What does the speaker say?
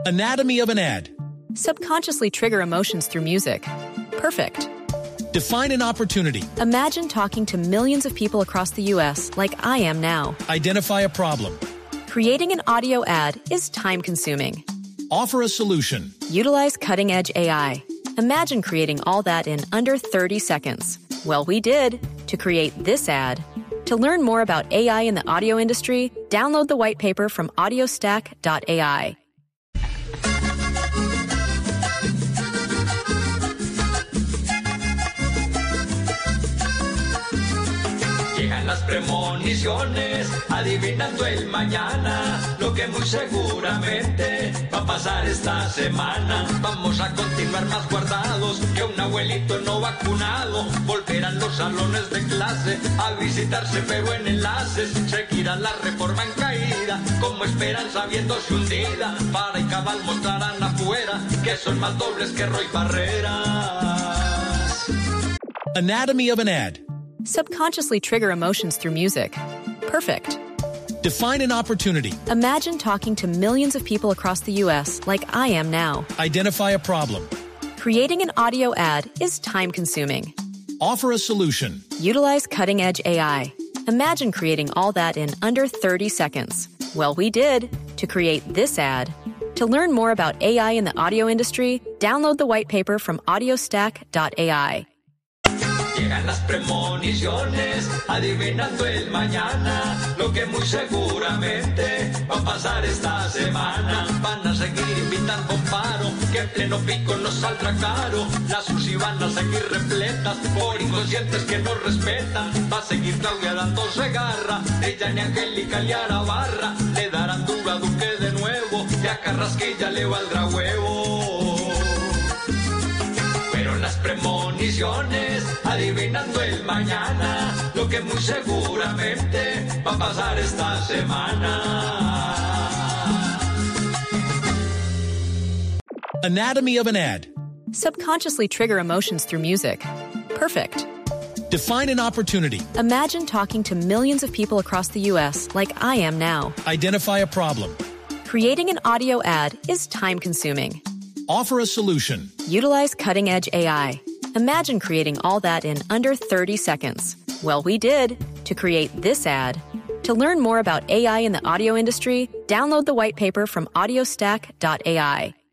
Anatomy of an ad. Subconsciously trigger emotions through music. Perfect. Define an opportunity. Imagine talking to millions of people across the U.S. like I am now. Identify a problem. Creating an audio ad is time-consuming. Offer a solution. Utilize cutting-edge AI. Imagine creating all that in under 30 seconds. Well, we did to create this ad. To learn more about AI in the audio industry, download the white paper from audiostack.ai. Llegan las premoniciones, adivinando el mañana, lo que muy seguramente va a pasar esta semana. Vamos a continuar más guardados que un abuelito no vacunado. Volverán los salones de clase a visitarse pero en enlaces. Seguirá la reforma en caída, como esperanza viéndose hundida. Para y cabal mostrarán afuera que son más dobles que Roy Barreras. Anatomy of an ad. Subconsciously trigger emotions through music. Perfect. Define an opportunity. Imagine talking to millions of people across the U.S. like I am now. Identify a problem. Creating an audio ad is time-consuming. Offer a solution. Utilize cutting-edge AI. Imagine creating all that in under 30 seconds. Well, we did to create this ad. To learn more about AI in the audio industry, download the white paper from audiostack.ai. Llegan las premoniciones, adivinando el mañana, lo que muy seguramente va a pasar esta semana. Van a seguir invitando un paro, que en pleno pico nos saldrá caro. Las UCI van a seguir repletas, por inconscientes que no respetan. Va a seguir Claudia dándose garra, ella ni Angélica ni Arabarra. Le darán duro a Duque de nuevo, y a Carrasquilla le valdrá huevo. Pero las premoniciones, adivinando el mañana, lo que muy seguramente va a pasar esta semana. Anatomy of an ad. Subconsciously trigger emotions through music. Perfect. Define an opportunity. Imagine talking to millions of people across the U.S. like I am now. Identify a problem. Creating an audio ad is time-consuming. Offer a solution. Utilize cutting-edge AI. Imagine creating all that in under 30 seconds. Well, we did to create this ad. To learn more about AI in the audio industry, download the white paper from audiostack.ai.